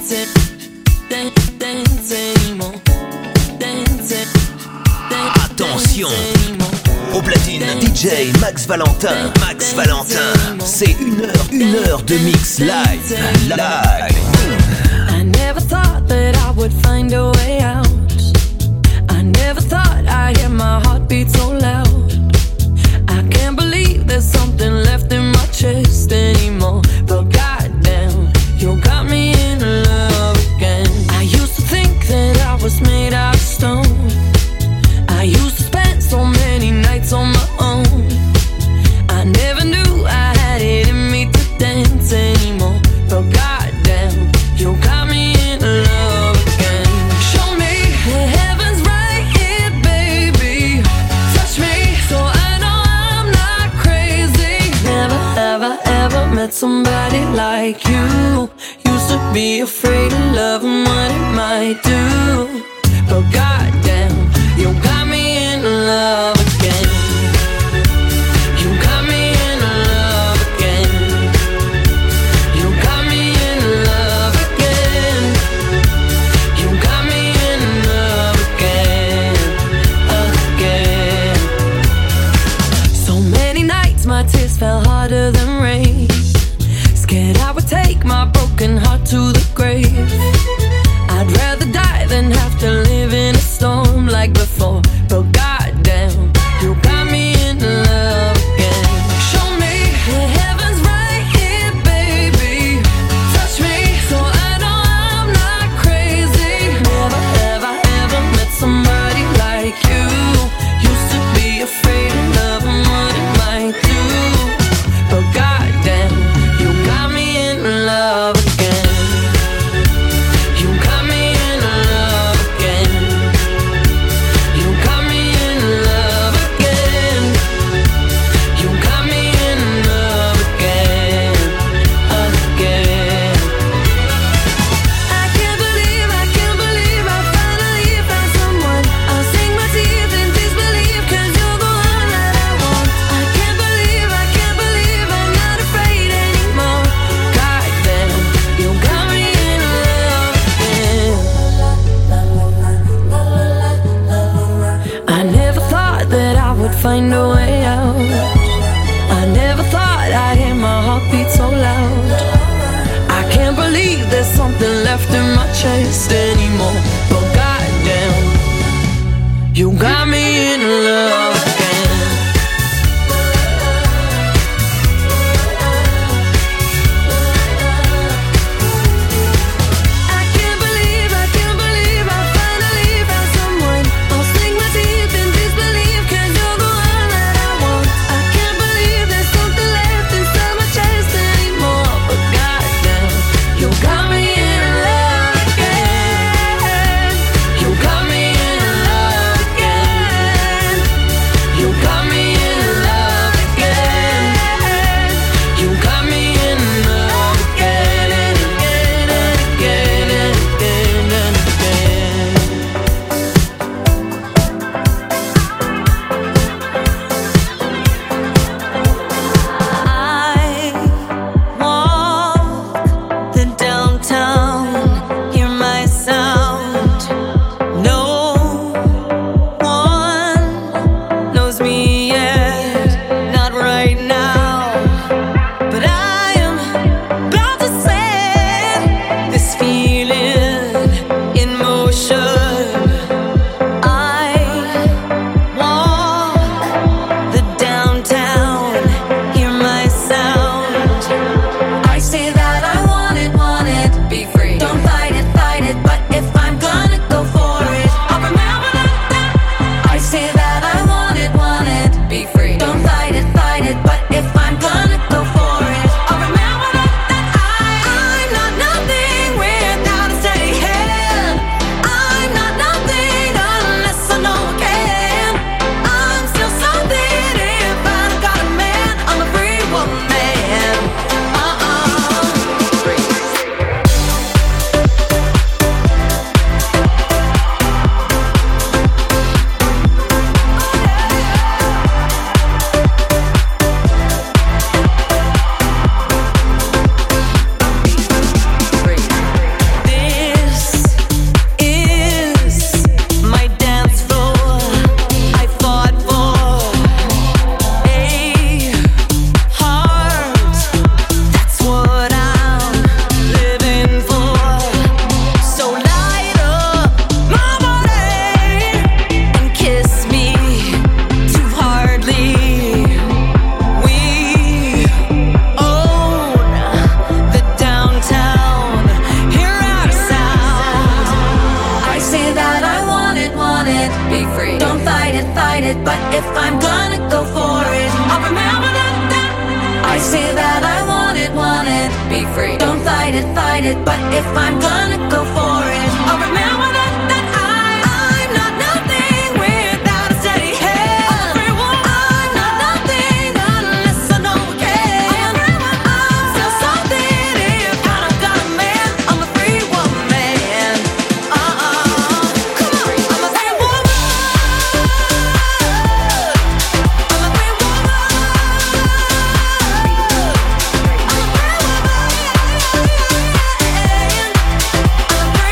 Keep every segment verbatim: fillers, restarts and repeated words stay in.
dance, dance, dance anymore. Dance, dance, attention. Au platine, D J Max Valentin. Max Valentin, c'est une heure, une heure de mix live. Live. I never thought that I would find a way out. I never thought I'd hear my heartbeat so loud. I can't believe there's something left in my chest anymore. But goddamn, you got me in love again. I used to think that I was made out of stone. I used to spend so many nights on my own. I never knew I had it in me to dance anymore. But goddamn, you got me in love again. Show me the heaven's right here, baby. Touch me so I know I'm not crazy. Never have I ever met somebody like you. Used to be afraid of love and what it might do. But goddamn, you got me in love again. You got me in love again. You got me in love again. You got me in love again, again. So many nights my tears fell harder than rain. Scared I would take my broken heart to the grave. I'd rather die than have to live in a storm like before. But goddamn, you got me in love again. Show me the heaven's right here, baby. Touch me so I know I'm not crazy. Never have I ever met somebody like you. Used to be afraid of love and what it might do. But goddamn, you got me in love again. You got me in love again. You got me in love again. You got me in love again, again. I can't believe, I can't believe I finally found someone. I'll sink my teeth in disbelief, cause you're the one that I want. I can't believe, I can't believe I'm not afraid anymore. Goddamn, you got me in love again. I never thought that I would find a way out. I never thought I'd hear my heartbeat so loud. I can't believe there's something left in my chest anymore. But goddamn, you got me in love again. I can't believe, I can't believe I finally found someone. I'll sink my teeth in disbelief, cause you're the one that I want. I can't believe there's something left inside my chest anymore. But goddamn, you got me in love again. hit it, but if I'm gonna go for it, I'll remember that, that I, I'm not nothing without a steady hand. I'm a free woman. I'm not nothing unless I know I can. I'm a free woman. I'm still something if I don't got a man. I'm a free woman. Uh-uh. Come on, I'm a free woman. I'm a free woman. I'm a free woman.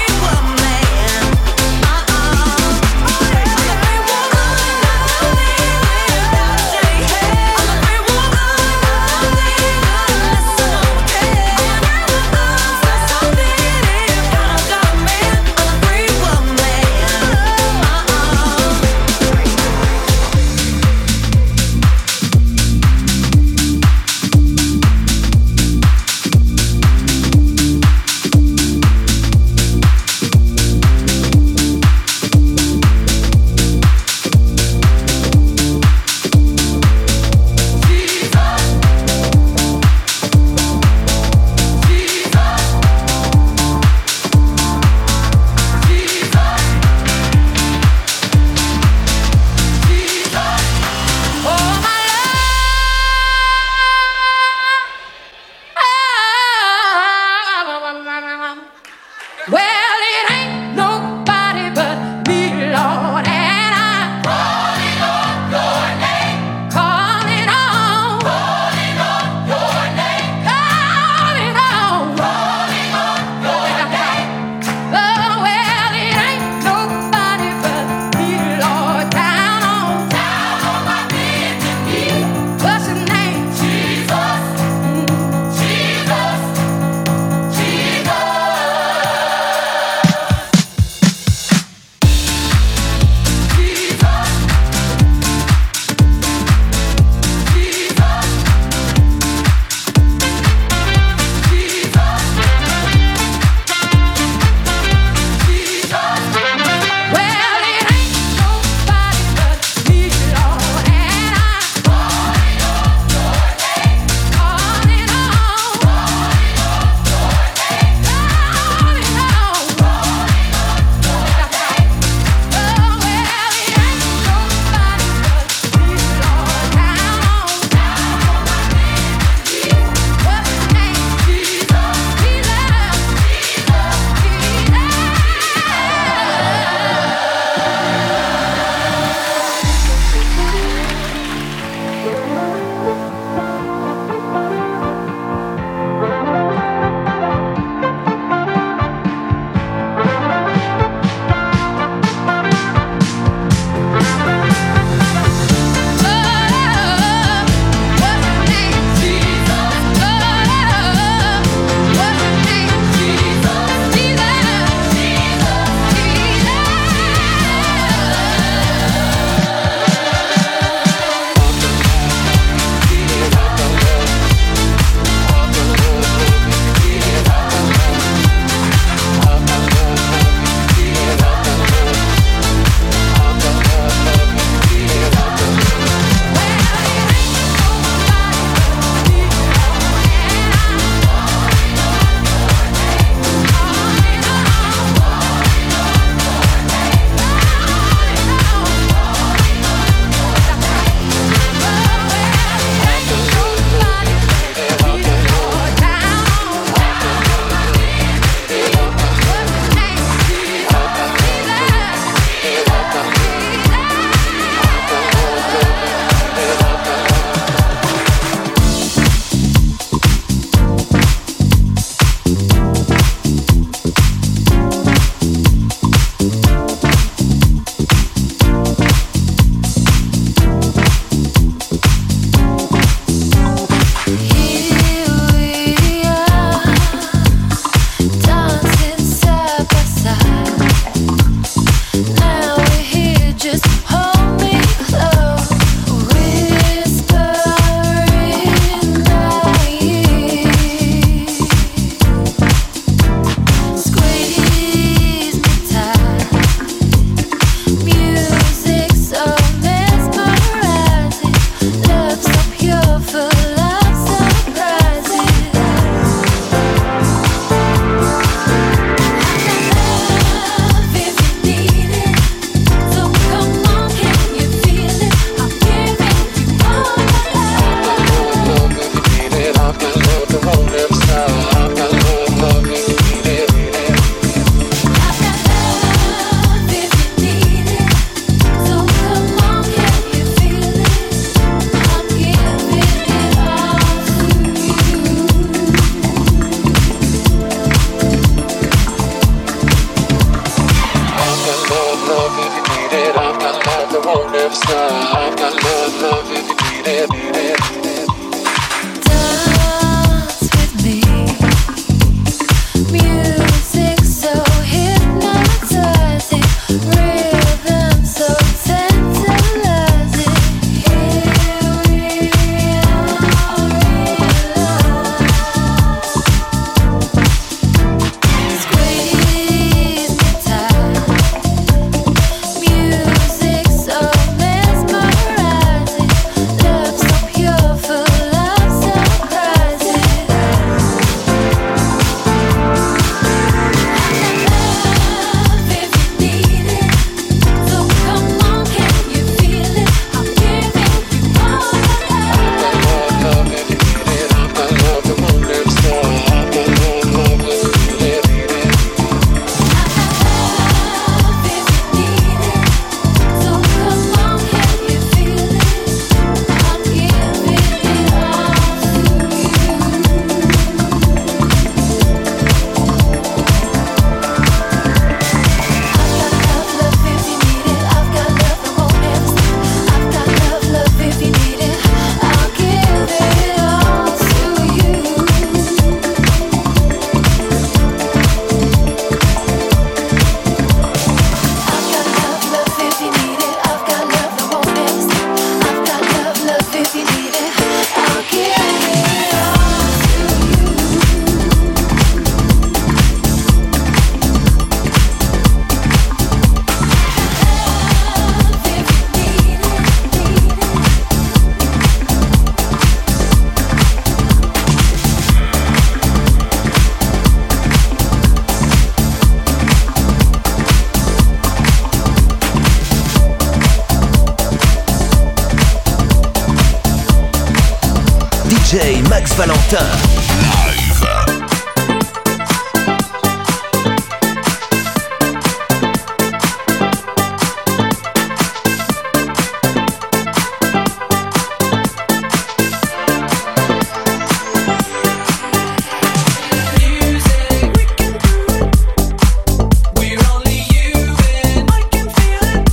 never stop. I've got love, love if you need it, need it. Dance with me. Music so hypnotizing, rhythm so tantalizing. Here we are, squeeze me tight. Music so mesmerizing, love so pure, full of surprises. Love if you need it, so come on, can you feel it? I'm giving you all the love. Love if you need it. I've got love that won't never stop. I've got love, love if you need it, need it. Love if you need it, so come on, can you feel it? I'm giving it all to you. I've got love, love if you need it. I've got love that won't never stop. I've got love, love if you need it. I'll give it all to you. I've got love, love if you need it. I've got love that won't never stop. I've got love, love if you need it. I'll give it all to D J Max Valentin. Live. We're only human. I can feel it.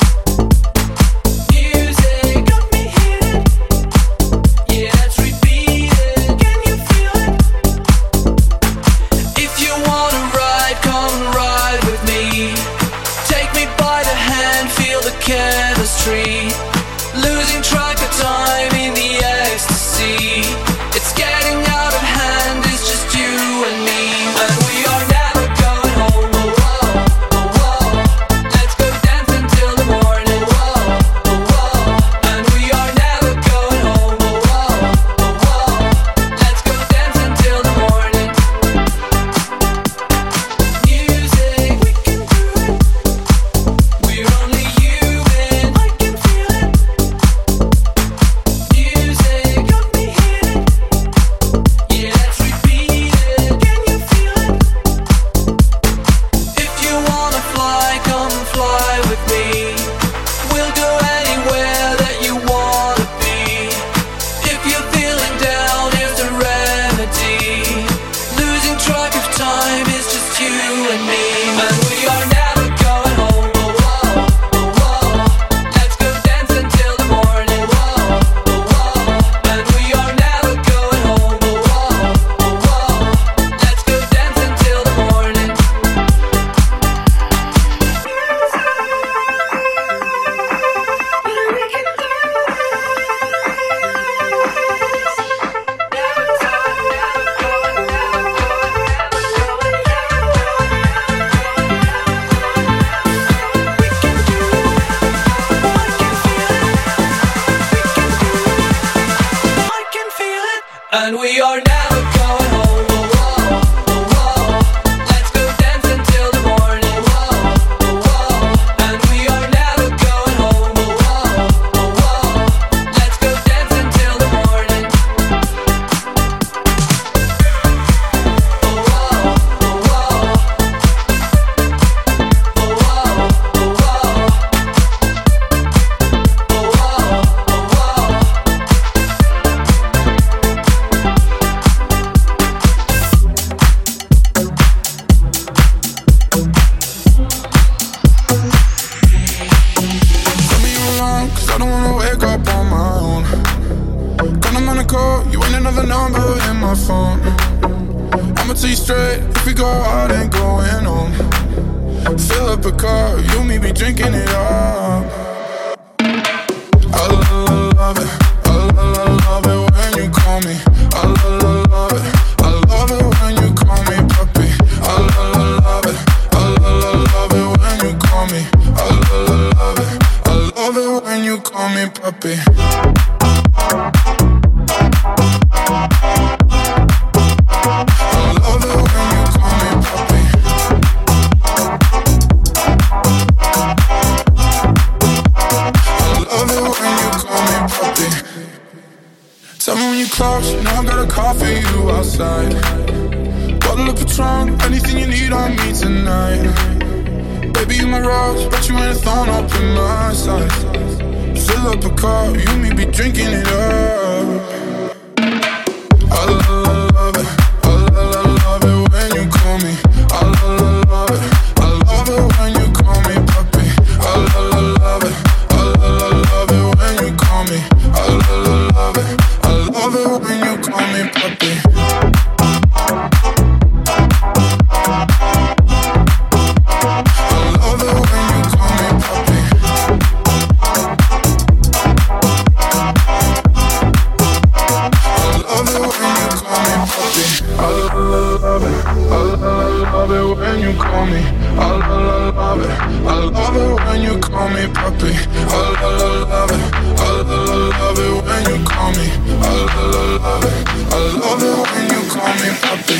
Music got me heated. Yeah, let's repeat it. Can you feel it? see straight. If we go out, ain't going home. Fill up a car, you and me be drinking it up. I love it, I love it when you call me. I love it, I love it when you call me puppy. I love it, I love it when you call me. I love it, I love it when you call me puppy. Close, you know I got a call for you outside. Bottle of Patron, anything you need on me tonight. Baby, you my rose, but you ain't thrown up in my side. Fill up a car, you and me be drinking it up. I love it, I love it when you call me. I love it, I love it when you call me puppy. I love it, I love it when you call me. I love it. I love it when you call me puppy. I love it when you call me puppy. I love it when you call me puppy. I love it, I love it when you call me. I love it, I love it when you call me puppy. I love it, I love it when you call me. I love it, I love it when you call me puppy.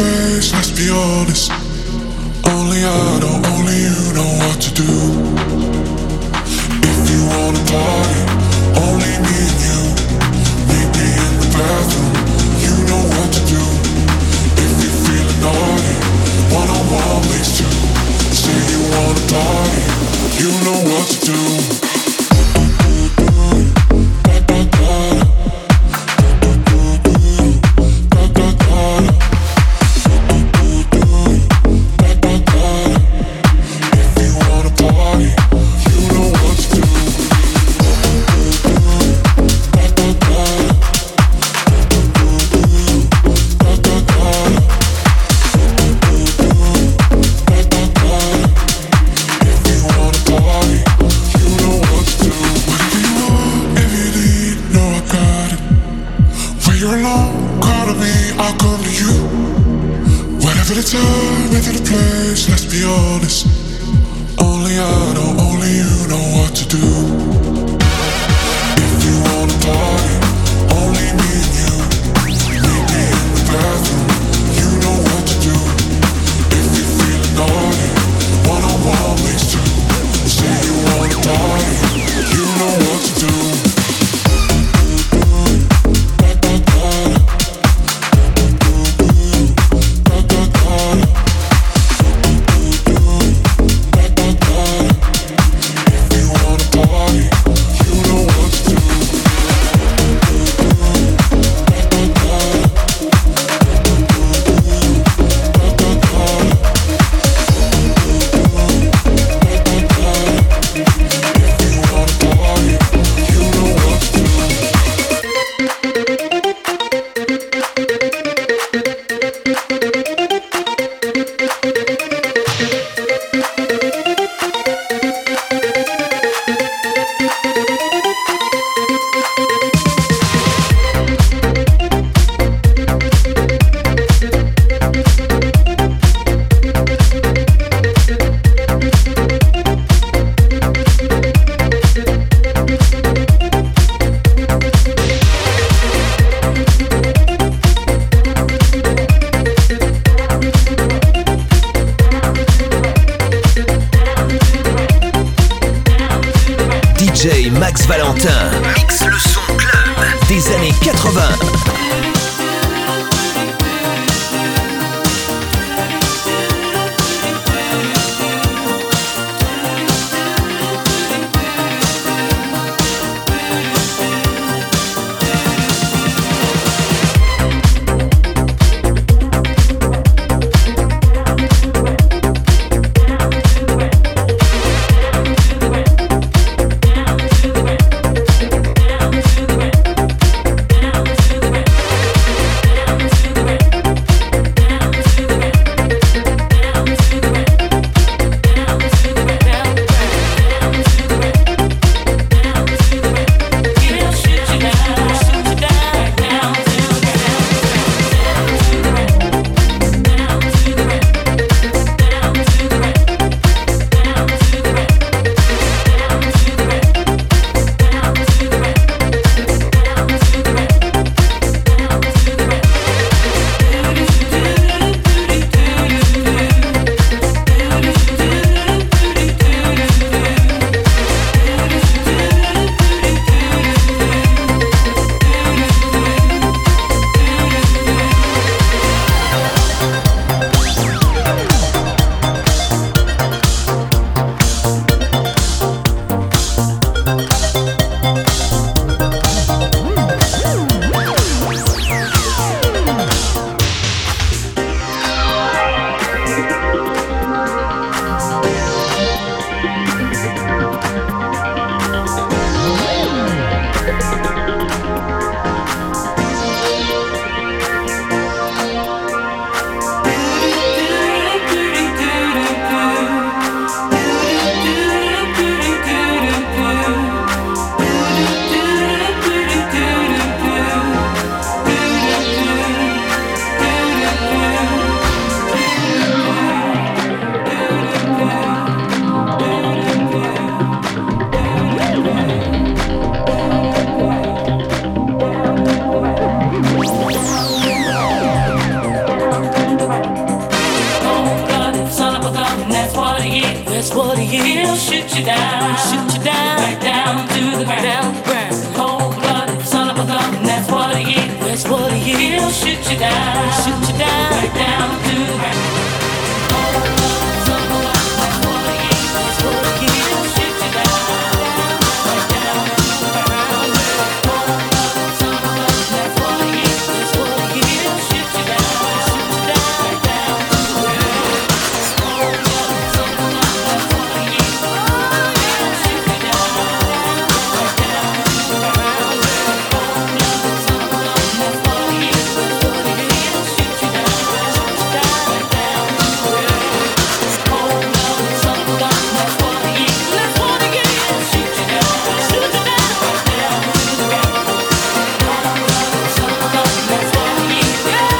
place, let's be honest. Only I know, only you know what to do. If you wanna party, only me and you. Meet me in the bathroom, you know what to do. If you're feeling naughty, one-on-one makes two. Say you wanna party, you know what to do. D J Max Valentin mixe le son club des années quatre-vingts. Down to the That's what he is. He'll shoot you down, shoot you down, right down to the ground. Cold blooded son of a gun, and that's what he is. That's what he is. He'll shoot you down, shoot you down, right down to the ground. Cold blooded son of a gun, that's what he is. That's what he is. He'll shoot you down, right down to the ground. Cold blooded son of a gun, that's what he is. That's what he is. He'll shoot you down, shoot you down, right down to the ground. Cold blooded son of a gun, that's what he is. He'll shoot you down, right down to the ground. Cold blooded son of a gun, that's what he is. That's what he is. He'll shoot you down, shoot you down, right down to the ground. Cold blooded son of a gun, that's what he is. That's what he is. He'll shoot you down, shoot you down, right down to the ground. Cold blooded son of a gun, that's what he is. He'll shoot you down,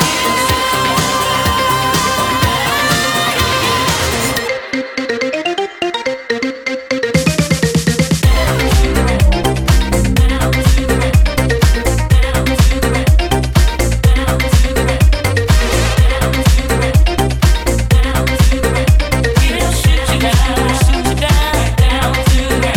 he'll shoot you down, shoot you down, right down to the ground.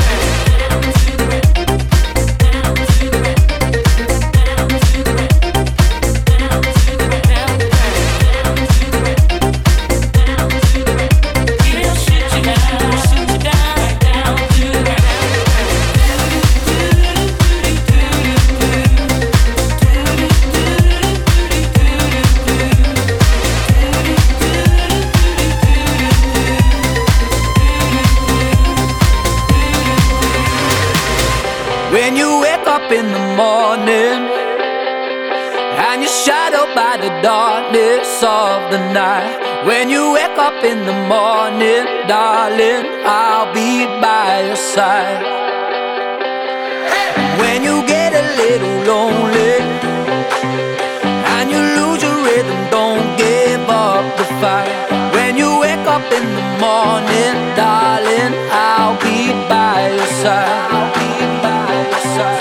He'll shoot you down, shoot you down, right down to the ground. When you wake up in the morning and you're shadowed by the darkness of the night. When you wake up in the morning, darling, I'll be by your side. When you get a little lonely and you lose your rhythm, don't give up the fight. When you wake up in the morning, darling, I'll be by your side. I'll be by your side.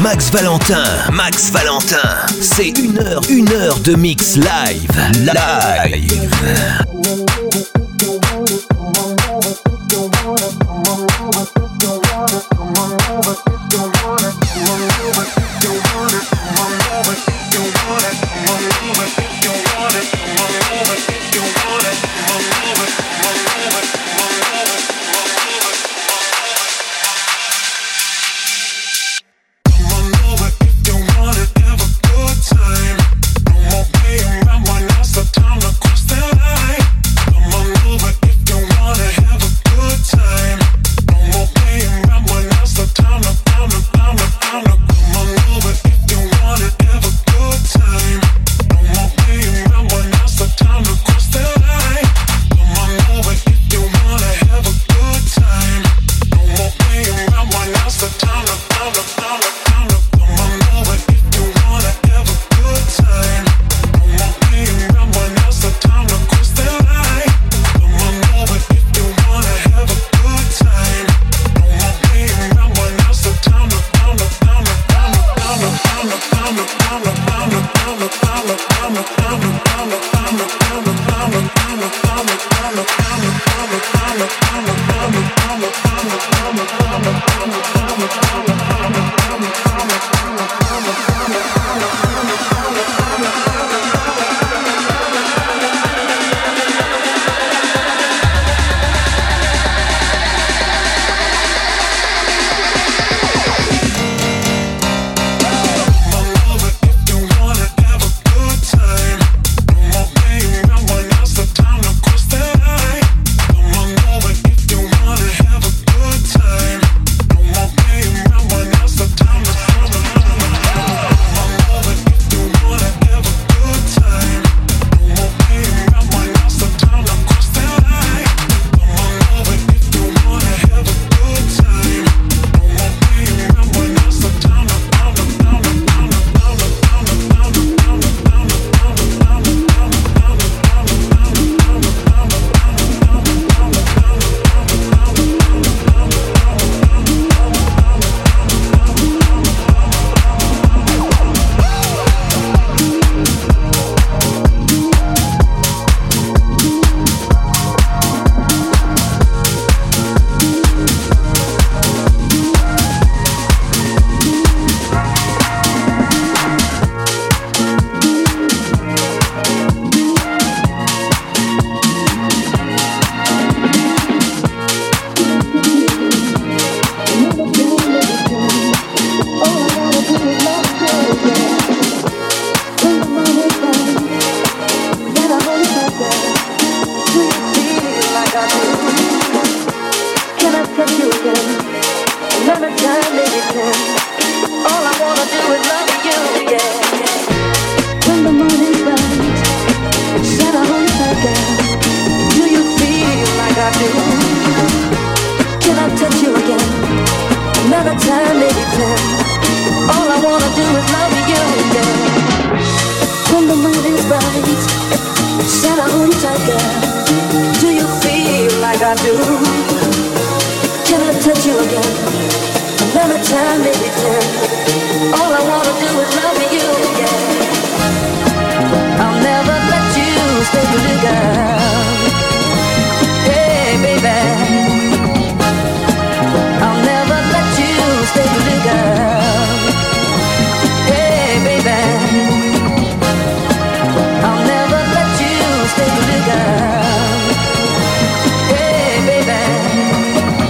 Max Valentin. Max Valentin. C'est une heure, une heure de mix live. Live.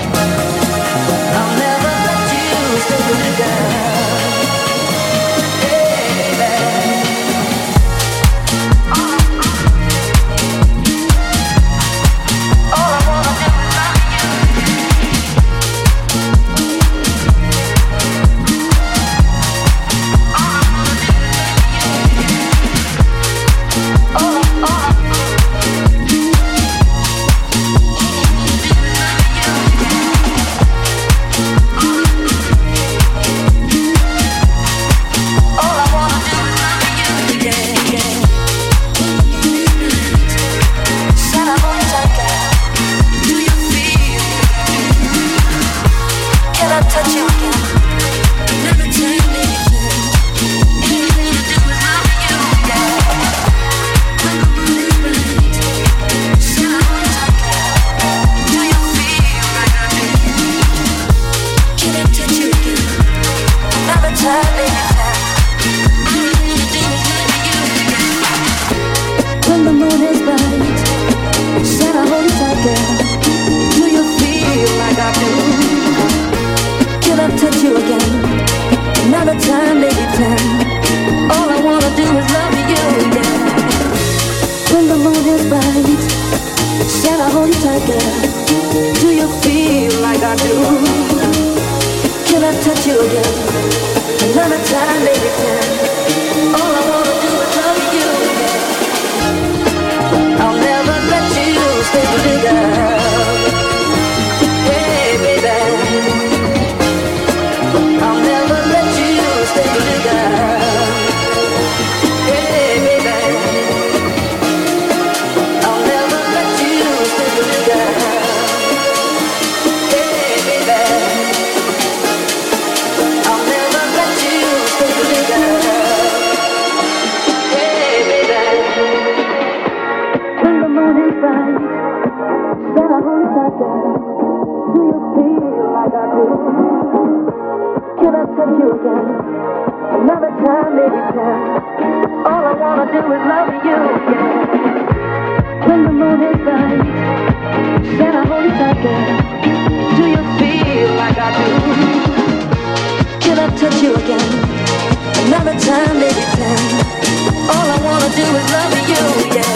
I'll never let you stay with a girl. do is love you, yeah. When the moon is bright, shall I hold you tight, girl? Do you feel like I do? Can I touch you again? Another time, baby, can. All I wanna do is love you, yeah. I'll never let you stay with me, girl. Hey, baby, I'll never let you stay with me, girl. Hey, baby, I'll never let you stay with me, girl. Hey, baby, I'll never let you stay with me, girl. Hey, baby, when the moon is bright, then I hold you tight, girl. Do you feel like I do? Can I touch you again? Another time, baby, can. All I wanna do is love you, yeah. When the moon is bright, then I hold you tight, girl. Do you feel like I do? Can I touch you again? Another time, baby, can. All I wanna do is love you, yeah.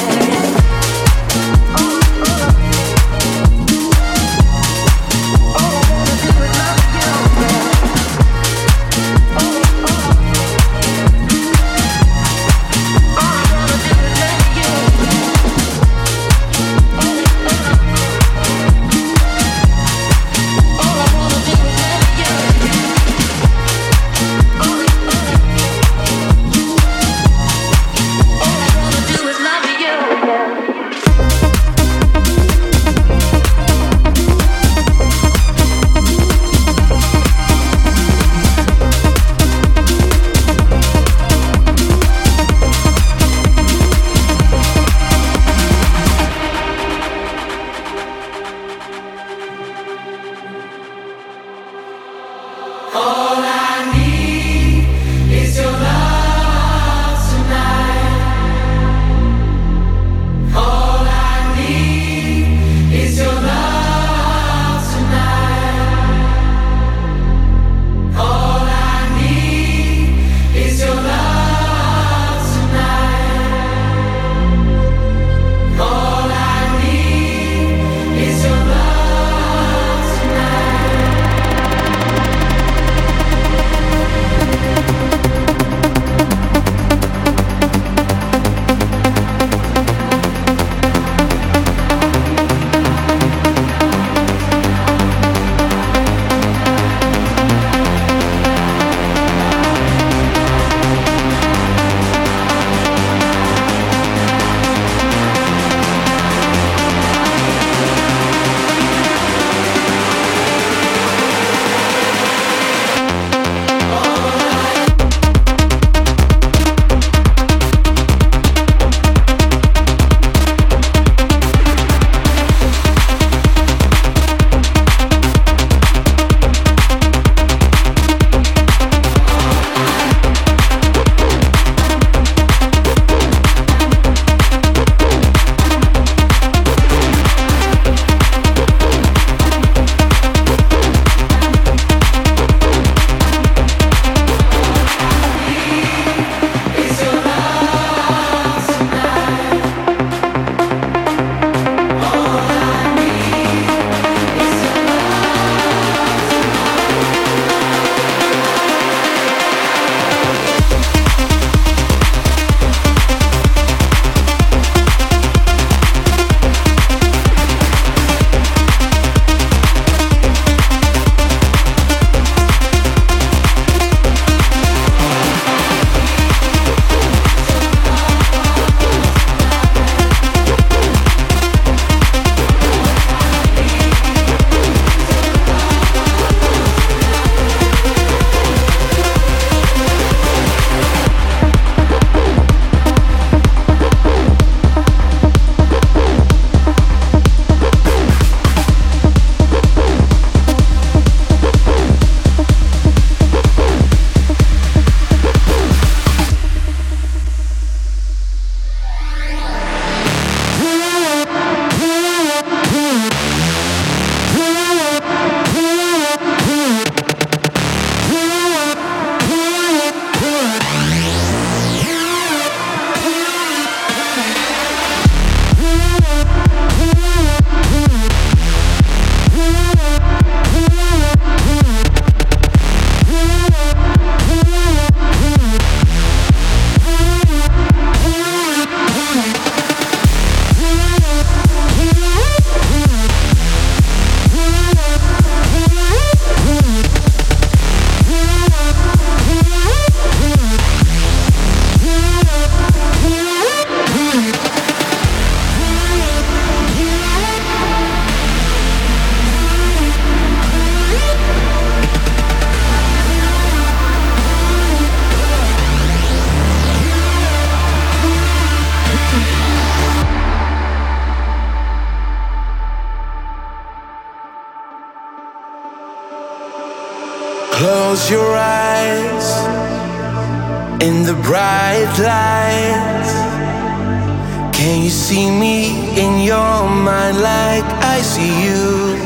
Close your eyes in the bright lights. Can you see me in your mind like I see you?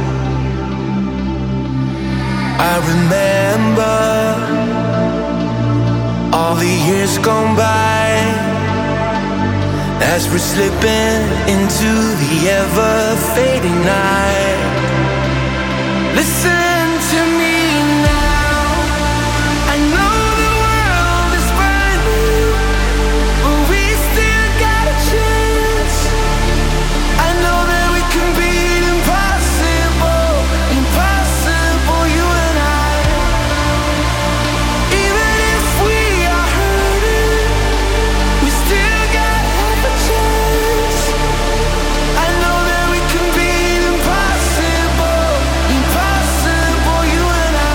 I remember all the years gone by as we're slipping into the ever-fading night. Listen to me now. I know the world is burning, but we still got a chance. I know that we can beat impossible, impossible, you and I. Even if we are hurting, we still got half a chance. I know that we can beat impossible, impossible, you and I.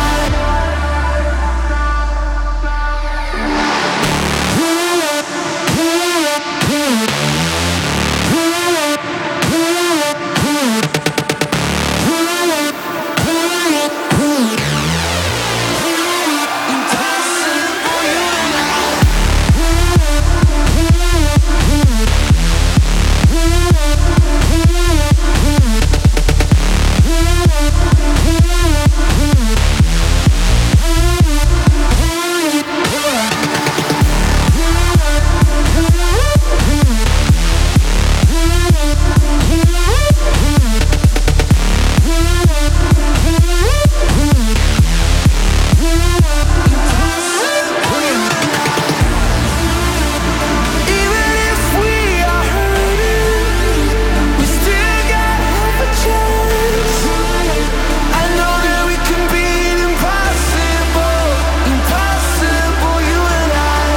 Even if we are hurting, we still got half a chance. I know that we can beat impossible, impossible, you and I.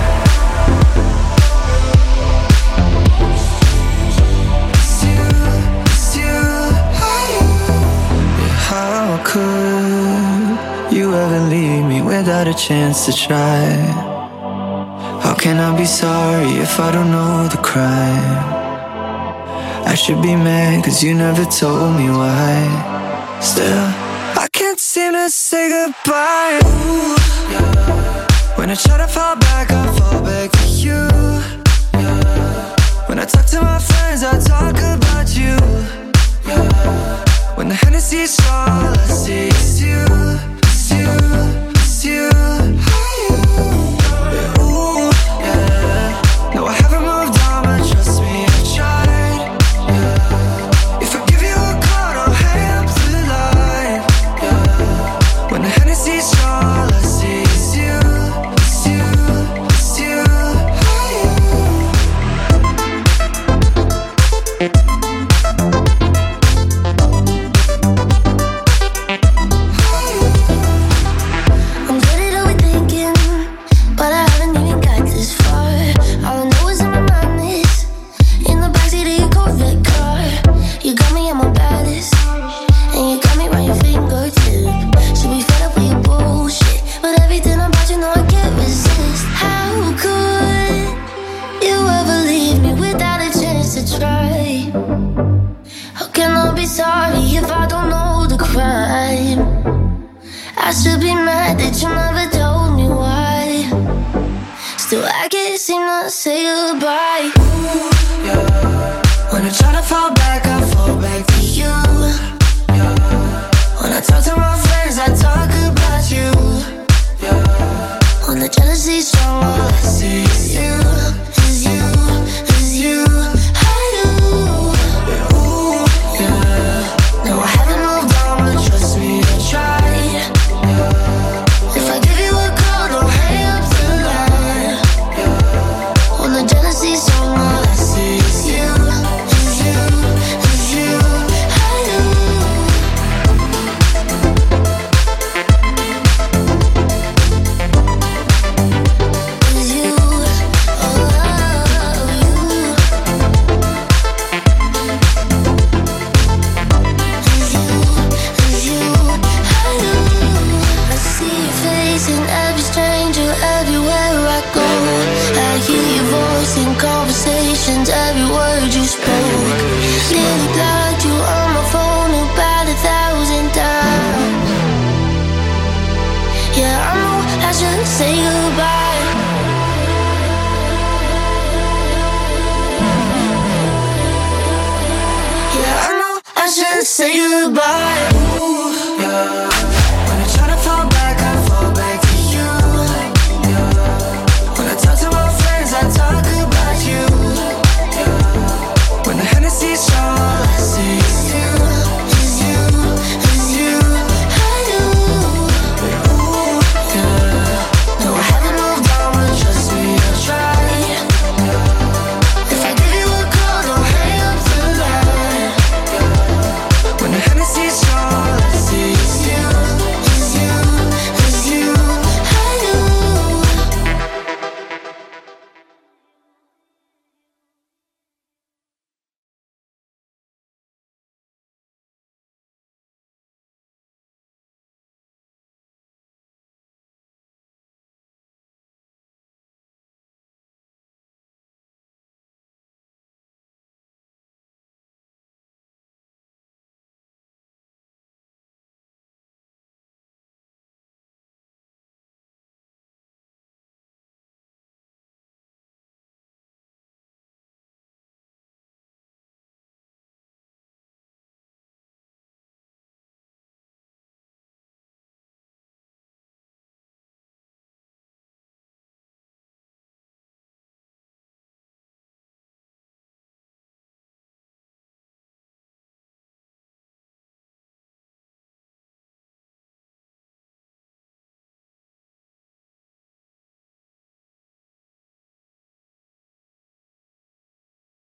It's you, it's you, how could you ever leave me without a chance to try? How can I be sorry if I don't know the crime? I should be mad cause you never told me why. Still, I can't seem to say goodbye. Ooh, yeah. When I try to fall back, I fall back to you. Yeah. When I talk to my friends, I talk about you. Yeah. When the Hennessy's strong, all I see is you. It's you, it's you. Yeah, ooh, yeah. No, I haven't moved on, but trust me, I tried. Yeah. If I give you a call, don't hang up the line. Yeah. When the Hennessy's strong, all I see is you. It's you, it's you. I'm good at overthinking, but I haven't even got this far. All I know is in my mind is in the backseat of your Corvette car. You got me at my baddest, and you got me right your fingertip. Should be fed up with your bullshit, but everything about you know I can't resist. How could you ever leave me without a chance to try? How can I be sorry if I don't know the crime? I should be mad that you never told me why. Still, I can't seem to say goodbye. Ooh, yeah. When I try to fall back, I fall back to you. Yeah. When I talk to my friends, I talk about you. Yeah. When the jealousy's strong, all I see is you, is you, is you. I do. Yeah, ooh, yeah. No, I haven't moved on, but trust me, I tried. Yeah. If I give you a call, don't hang up the line. Yeah. When the jealousy's strong, all I see is you, is you, is say goodbye.